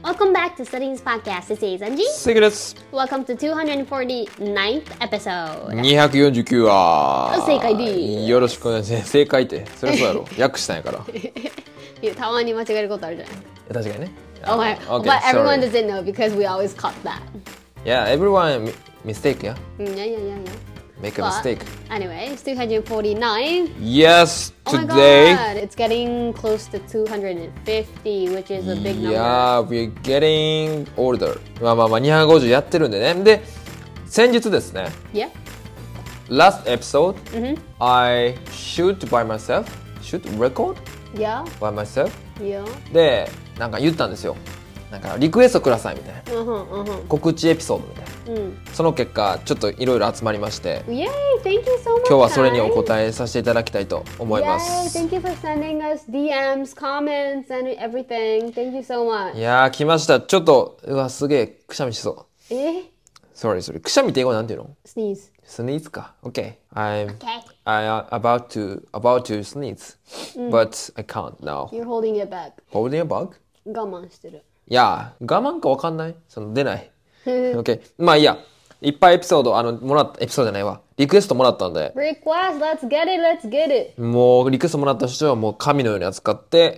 Welcome back to Studying's podcast. This is Anji. 関です。 Welcome to 249th episode. 249話。 正解です。 よろしくお願いします。正解って、そりゃそうやろ。訳したんやから。 いや、たまに間違えることあるじゃない。 確かにね。 Oh my, Okay, but everyone sorry. doesn't know because we always caught that. Yeah, everyone mistake, yeah? Yeah. Make a But mistake. Anyway, it's 249. Yes, Oh my today. god, it's getting close to 250, which is a big number. Yeah, we're getting older. まあ250やってるんでね。で、先日ですね。 Yeah. Last episode, I shoot by myself. Shoot record Yeah. by myself. Yeah. で、なんか言ったんですよ。なんかリクエストくださいみたいな。告知エピソードみたいな。その結果ちょっといろいろ集まりまして、 Yay! Thank you so much. 今日はそれにお答えさせていただきたいと思います。 Yay! Thank you for sending us DMs, comments, and everything. Thank you so much. いやー来ました。ちょっとうわすげえくしゃみしそう。Sorry くしゃみって英語なんていうの？ Sneeze. Sneeze か。Okay. I'm about to sneeze, but I can't now. You're holding it back. Holding a bug? 我慢してる。 いや我慢かわかんない。その出ない。OK。まあいいや。いっぱいエピソードもらったエピソードじゃないわ。リクエストもらったんで。 Request, let's get it. もうリクエストもらった人はもう神のように扱って、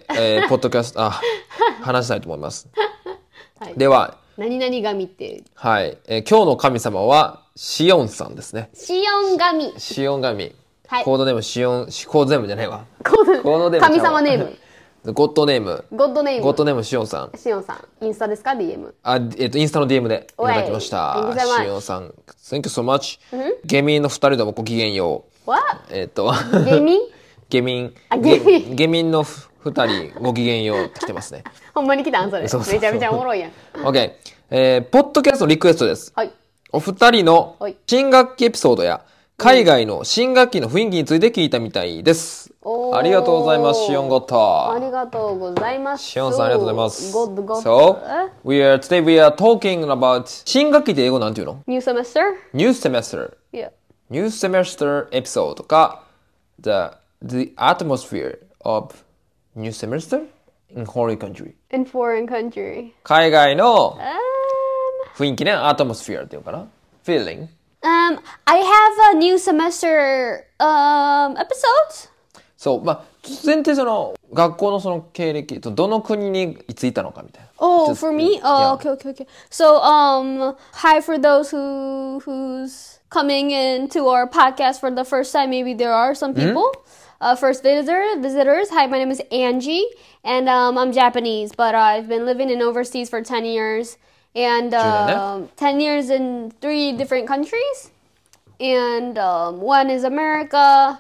ポッドキャスト話したいと思います。 はい、 では。 何々神って。 はい、今日の神様はシオンさんですね。 シオン神。 シオン神。 はい、 コードネームシオン、コードネームじゃないわ。 コードネーム。神様ネーム。 ゴッドネーム。 ゴッドネームシオンさん。 シオンさん。インスタですか ?DM。 インスタの DM でいただきました。シオンさん。Thank you so much。ゲミンの2人ともごきげんよう。 What？ ゲミンの2人ごきげんようって来てますね。 ほんまに来たんそれ。 そうめちゃめちゃおもろいやん。 OK。ポッドキャストのリクエストです。 はい。 お二人の新学期エピソードや海外の新学期の雰囲気について聞いたみたいです。ありがとうございます、シオンゴット。 ありがとうございます。 シオンさんありがとうございます。 So, today we are talking about 新学期って英語なんていうの？ New semester? New semester. Yeah. New semester episode とか the atmosphere of new semester in foreign country. In foreign country. 海外の雰囲気ね、atmosphere っていうかな feeling. I have a new semester episode. そう、まあ、前提その学校のその経歴とどの国にいついたのかみたいな。 Oh, for me? Oh, yeah. Okay. So, hi for those who's coming into our podcast for the first time. Maybe there are some people. First visitors. Hi, my name is Angie, and I'm Japanese, but I've been living in overseas for 10 years. And 10 years in 3 different countries. And one is America,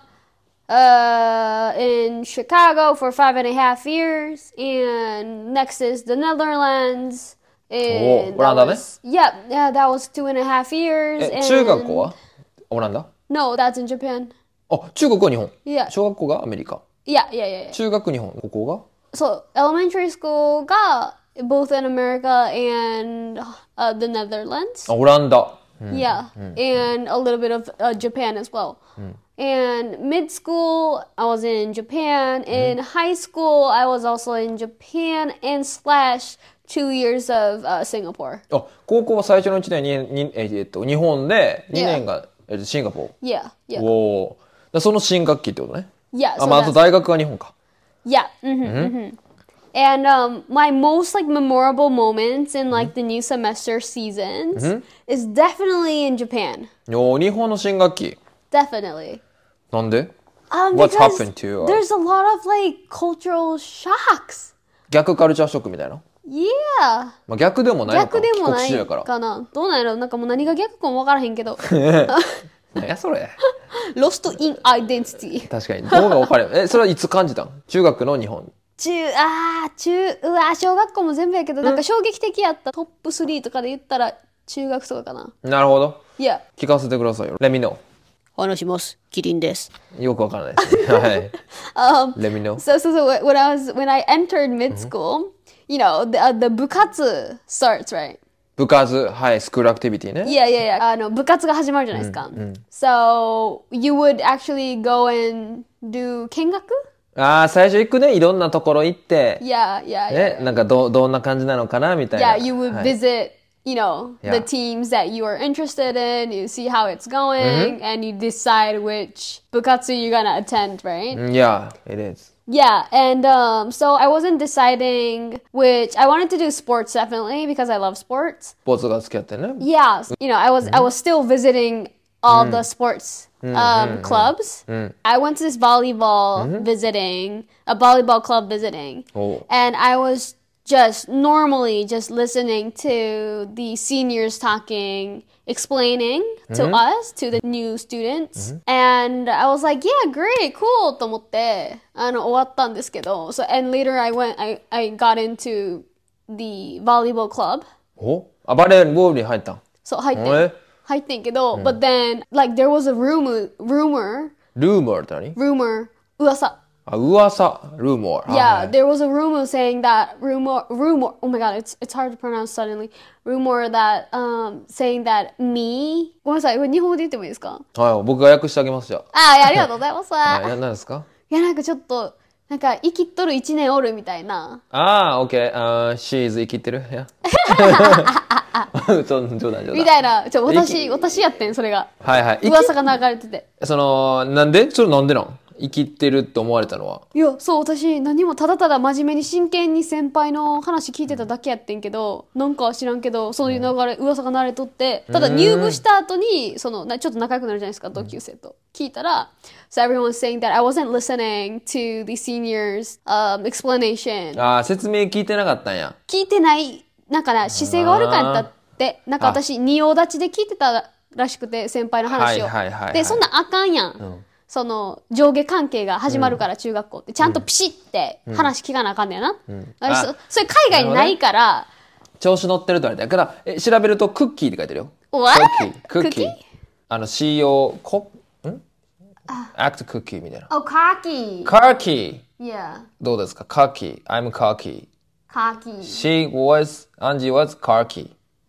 in Chicago for 5.5 years. And next is the Netherlands. And that was 2.5 years. 中学校はオランダ？ No, that's in Japan. あ、中学校は日本。 Yeah. 小学校がアメリカ。 Yeah. 中学日本。高校が？ So, elementary school がboth in America and the Netherlands. オランダ。 Yeah, and a little bit of Japan as well. And mid school, I was in Japan. In high school, I was also in Japan and slash 2 years of Singapore. あ、高校は最初の1年に日本で2年がシンガポー。 Yeah. おお。その新学期ってことね。 Yeah. あ、まあ、あと大学は日本か。 Yeah. And my most like memorable moments in like the new semester seasons is definitely in Japan. お、日本の新学期。 Definitely. なんで？ What's happened to you? There's a lot of like cultural shocks. 逆カルチャーショックみたいな。 Yeah. まあ逆でもないのか。 逆でもない帰国子女やから。 かな。どうなんやろ。なんかもう何が逆かも分からへんけど。 何やそれ。 Lost in identity. 確かに。どうが分かる。それはいつ感じたん？中学の日本。 小学校も全部やけど、なんか衝撃的やったトップ3とかで言ったら中学とかかな。 なるほど。 Yeah. 聞かせてくださいよ。Let me know. 話します。キリンです。 よくわからないですね。はい。Let me know. So when I entered mid school, you know, the 部活 starts, right? 部活、はい、スクールアクティビティね。 Yeah. 部活が始まるじゃないですか。So you would actually go and do 見学ああ、最初行くね。いろんなところ行って。 Yeah, yeah, ね、 yeah. なんかどんな感じなのかなみたいな。 Yeah, you would はい。 visit, you know, Yeah. the teams that you are interested in, you see how it's going, and you decide which bukatsu you're gonna attend, right? Yeah, it is. Yeah, and so I wasn't deciding which I wanted to do sports definitely because I love sports. スポーツが好きやってね。 Yeah, you know, I was still visiting all the sports clubs. I went to this volleyball visiting, a volleyball club visiting, and I was just normally just listening to the seniors talking, explaining to us, to the new students. And I was like, yeah, great, cool と思って、終わったんですけど。So, and later I got into the volleyball club. あ、バレーボールに入ったん？ そう、入ってんけど、but then, like, there was a rumor. ルーモーって何？ Rumor. 噂。 あ、噂。ルーモー。 Yeah, there was a rumor saying that rumor. Oh my god, it's hard to pronounce suddenly. Rumor that saying that me. ごめんなさい、これ日本語で言ってもいいですか？ はい、僕が訳してあげますじゃありがとうございます。 はい、何ですか？ いや、なんかちょっと、なんか生きっとる1年おるみたいな。 OK。シーズ生きてる？いや。冗談。 みたいな。私やってん、それが。 はいはい。 噂が流れてて。 なんでなん生きてるって思われたのは？ いや、そう、私何もただただ真面目に真剣に先輩の話聞いてただけやってんけど、なんか知らんけど、そういう噂が流れとって、ただ入部した後に、ちょっと仲良くなるじゃないですか、同級生と。聞いたら、So everyone was saying that I wasn't listening to the seniors' explanation. ああ、説明聞いてなかったんや。 聞いてない、なんかな、姿勢が悪かったって、なんか私、仁王立ちで聞いてたらしくて、先輩の話を。で、そんなあかんやん。その上下関係が始まるから中学校ってちゃんとピシって話聞かなあかんねやな。それ海外にないから。 調子乗ってるとあれだから、調べるとクッキーって書いてるよ。 What? クッキー。CO act cookie みたいな。 Oh, cocky. Cocky. Yeah. どうですか？ Cocky. I'm cocky. Cocky. Angie was cocky.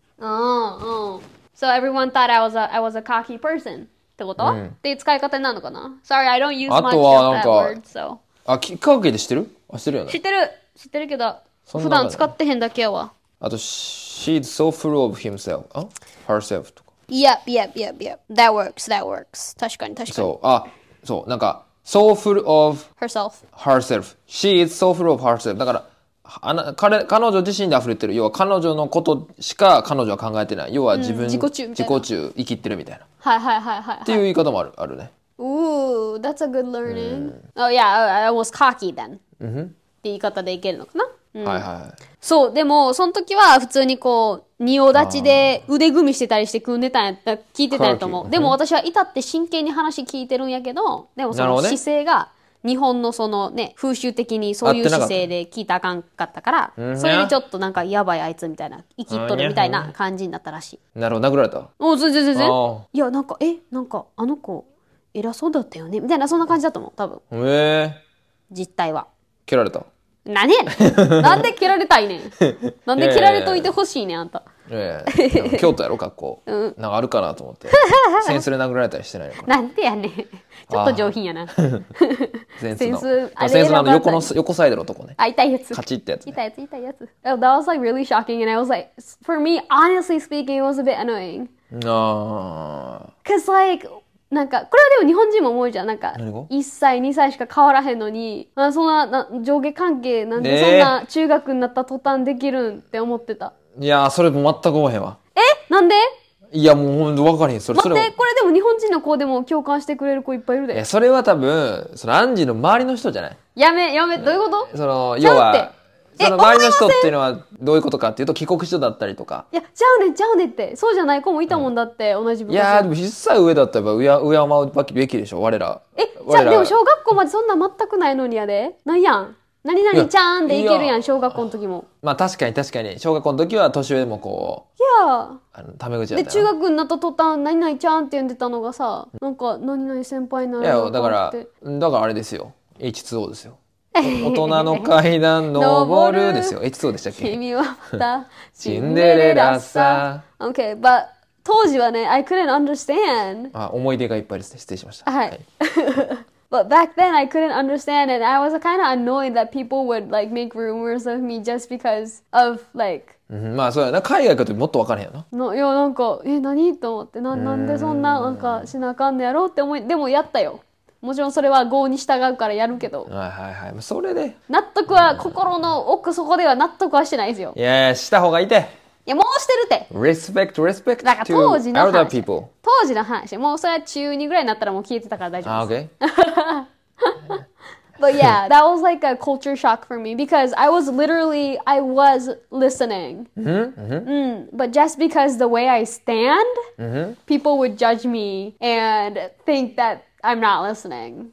So everyone thought I was a cocky person.ってこと、っていう使い方になるのかな？ Sorry, I don't use much of that word, so. あ、カーキーで知ってる？知ってるよね。 知ってるけど、普段使ってへんだけやわ。 あと、she's so full of herself とか。 Yep. That works. 確かに。 そう、なんか、so full of herself. She is so full of herself. だから、彼女自身で溢れてる。要は彼女のことしか彼女は考えてない。要は自己中生きってるみたいな。 はい。っていう言い方もあるね。 Ooh, that's a good learning. Oh yeah, I was cocky then. って言い方でいけるのかな？ はい。 そう、でも、その時は普通にこう、仁王立ちで腕組みしてたりして組んでたんやった、聞いてたんやと思う。でも私は至って真剣に話聞いてるんやけど、でもその姿勢が、日本のそのね、風習的にそういう姿勢で聞いたらあかんかったから、それでちょっとなんかやばいあいつみたいな、生きっとるみたいな感じになったらしい。 なるほど、殴られた？ 全然。いや、なんかあの子、偉そうだったよねみたいな、そんな感じだと思う、多分。実態は。 蹴られた？ 何やねん。なんで蹴られたいねん。なんで蹴られといてほしいねん、あんた。 京都やろ、学校。なんかあるかなと思って。センスで殴られたりしてないのかな。なんでやねん。ちょっと上品やな。 センスの横サイドのとこね。 痛いやつ。 カチってやつ。 痛いやつ。That was like really shocking and I was like, for me, honestly speaking, it was a bit annoying. Cause like, なんかこれはでも日本人も思うじゃん。なんか1歳2歳しか変わらへんのに、そんな上下関係なんでそんな中学になった途端できるんって思ってた。 いやー、それも全く思えへんわ。 なんで？ いや、もうほんと分かれへん。待って、これでも日本人の子でも共感してくれる子いっぱいいるで。 それは多分アンジーの周りの人じゃない？ やめ、どういうこと？ 要はその周りの人っていうのはどういうことかっていうと帰国子女だったりとか。 いや、ちゃうねってそうじゃない子もいたもんだって、同じ部活。 いやでも1歳上だったら敬うべきでしょ、我ら。 じゃあでも小学校までそんな全くないのにやで。ないやん。何々ちゃんでいけるやん、小学校の時も。 まあ確かに小学校の時は年上でもこう、 いやタメ口だったよ。 で中学になった途端何々ちゃんって呼んでたのがさ、なんか何々先輩になるのかって。いやだからあれですよ、 H2O ですよ。大人の階段登るですよ。H2O でしたっけ？ 君はまたシンデレラさ。 Okay, but 当時はね、I couldn't understand。 思い出がいっぱいですね。失礼しました。 はい。 But back then I couldn't understand and I was kind of annoyed that people would like make rumors of me just because of like まあそうやな。海外行くともっと分からへんよな。 いやなんか何と思ってなんでそんななんかしなあかんのやろうって思いでもやったよ。もちろんそれは業に従うからやるけど。 はいはいはい。それで納得は心の奥底では納得はしてないですよ。 いやした方がいいて。 いやもうしてるって。 respect だから当時の to 話。 other people。 当時の話。もうそれは中2ぐらいになったらもう消えてたから大丈夫です。But yeah, that was like a culture shock for me because I was listening. But just because the way I stand, people would judge me and think that I'm not listening.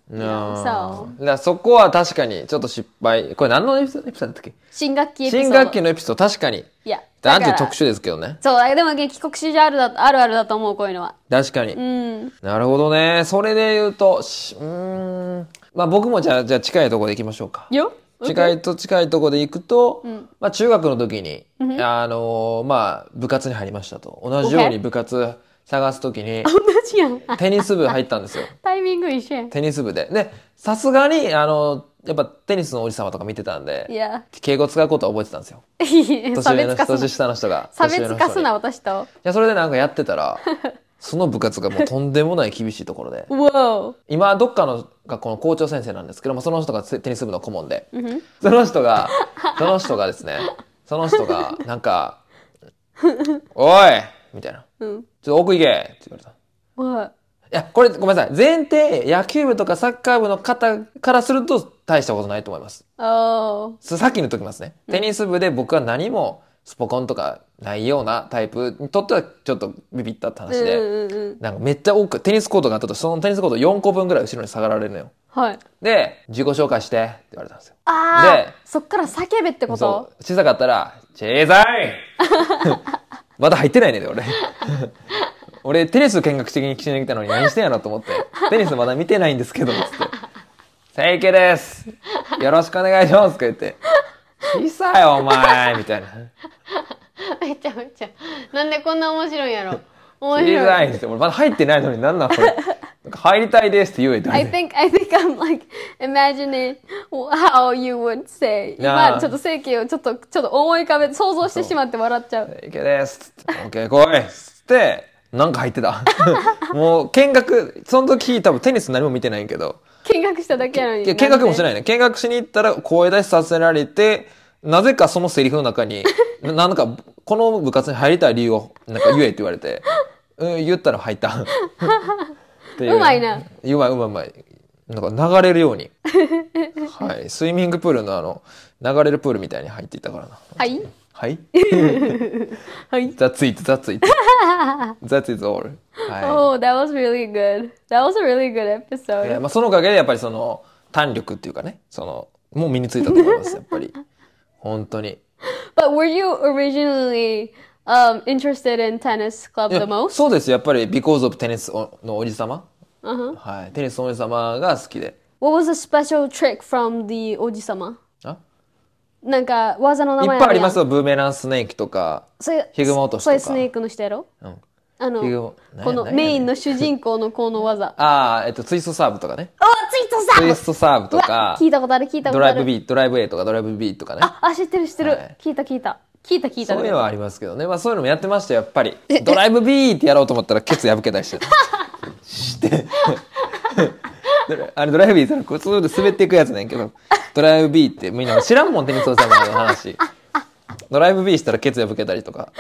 So. そこは確かにちょっと失敗。これ何のエピソードだったっけ？ 新学期エピソード。 新学期のエピソード確かに。 いや。 アンチ特殊ですけどね。 そう、でも帰国子女あるあるだと思う、こういうのは。 確かに。なるほどね。それで言うと、まあ僕もじゃあ近いところで行きましょうか。近いところで行くと、まあ中学の時に、まあ部活に入りましたと。同じように部活探す時に、テニス部入ったんですよ。 タイミング一緒やん。 テニス部で。で、さすがに、やっぱテニスのおじさまとか見てたんで、敬語使うことは覚えてたんですよ。年下の人が。 差別化すな、私と。 いや、それでなんかやってたら、その部活がもうとんでもない厳しいところで。今、どっかの学校の校長先生なんですけども、その人がテニス部の顧問で。その人がですね、なんか、おいみたいな。ちょっと奥行けって言われた。いや、これごめんなさい。前提、野球部とかサッカー部の方からすると大したことないと思います。さっき言っときますね。テニス部で僕は何もスポコンとかないようなタイプにとってはちょっとビビったって話で、なんかめっちゃ多くテニスコートがあったと、そのテニスコート4個分ぐらい後ろに下がられるのよ。で、自己紹介してって言われたんですよ。 で、そっから叫べってこと？ 小さかったら、小さいまだ入ってないねで、俺テニス見学的に来てきたのに何してんやろと思って、テニスまだ見てないんですけど、つって。せいけです。よろしくお願いします。とか言って。小さいお前みたいな。 めちゃ。なんでこんな面白いんやろ。 小さいって。俺まだ入ってないのになんなんこれ。入りたいですって言えて。 I think I'm like imagining how you would say. 今ちょっとせいけをちょっと思い浮かべて想像してしまって笑っちゃう。 せいけです。オッケー来い。つって。なんか入ってた。もう見学、その時多分テニス何も見てないけど。 見学しただけなのに。 見学もしないね。見学しに行ったら声出しさせられて、なぜかそのセリフの中に、なんかこの部活に入りたい理由をなんか言えって言われて、言ったら入った。 うまいな。 うまい。なんか流れるように。はい。スイミングプールの流れるプールみたいに入っていったからな。 はいはい。 はい。 That's it. That is all. Oh, that was really good. That was a really good episode. まあそのおかげでやっぱりその弾力っていうかね、もう身についたと思います、やっぱり。本当に。 But were you originally interested in tennis club the most? そうです。やっぱり because of テニスのおじさま。はい。テニスのおじさまが好きで。 What was a special trick from the おじさま？なんか技の名前いっぱいありますよ。ブーメランスネーキとか、ヒグマ落としとか。 それスネークの人やろ？このメインの主人公のこの技。 ツイストサーブとかね。 ツイストサーブとか。聞いたことある。 ドライブ B、ドライブ A とかドライブ B とかね。 知ってる。聞いた。 そういうのはありますけどね。まあそういうのもやってましたよ、やっぱり。ドライブ B ってやろうと思ったらケツ破けたりして。あれドライブ B って普通で滑っていくやつねんけど、ドライブ B ってみんな知らんもん、テニスのさまの話。ドライブ B したらケツ破けたりとか。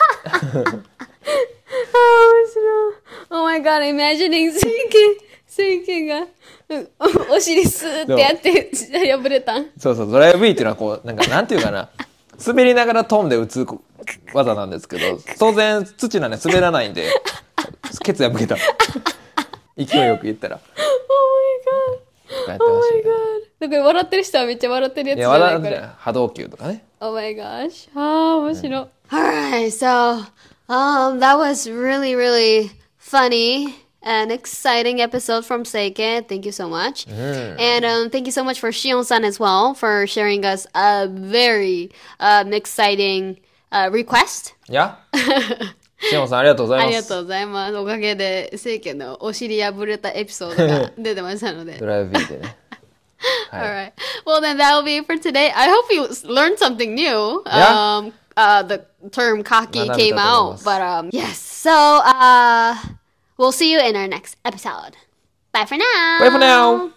Oh my god, imagining セイケがお尻スーってやって破れたん。 そう、ドライブ B っていうのはこう、なんていうかな、滑りながら飛んで打つ技なんですけど、当然土なんで滑らないんで、ケツ破けた。勢いよく言ったら。 Oh my god. Oh my god. だから笑ってる人はめっちゃ笑ってるやつじゃないこれ。 波動球とかね。 Oh my gosh. 面白い。Alright, so that was really, really funny and exciting episode from Seike. Thank you so much. And thank you so much for Shion-san as well for sharing us a very exciting request. Yeah. シオンさんありがとうございます。 ありがとうございます。おかげで、聖家のお尻破れたエピソードが出てましたので。 ドライブビーでね。 Alright. Well, then that'll be it for today. I hope you learned something new. Yeah. The term cocky came out. But yes. So, we'll see you in our next episode. Bye for now. Bye for now.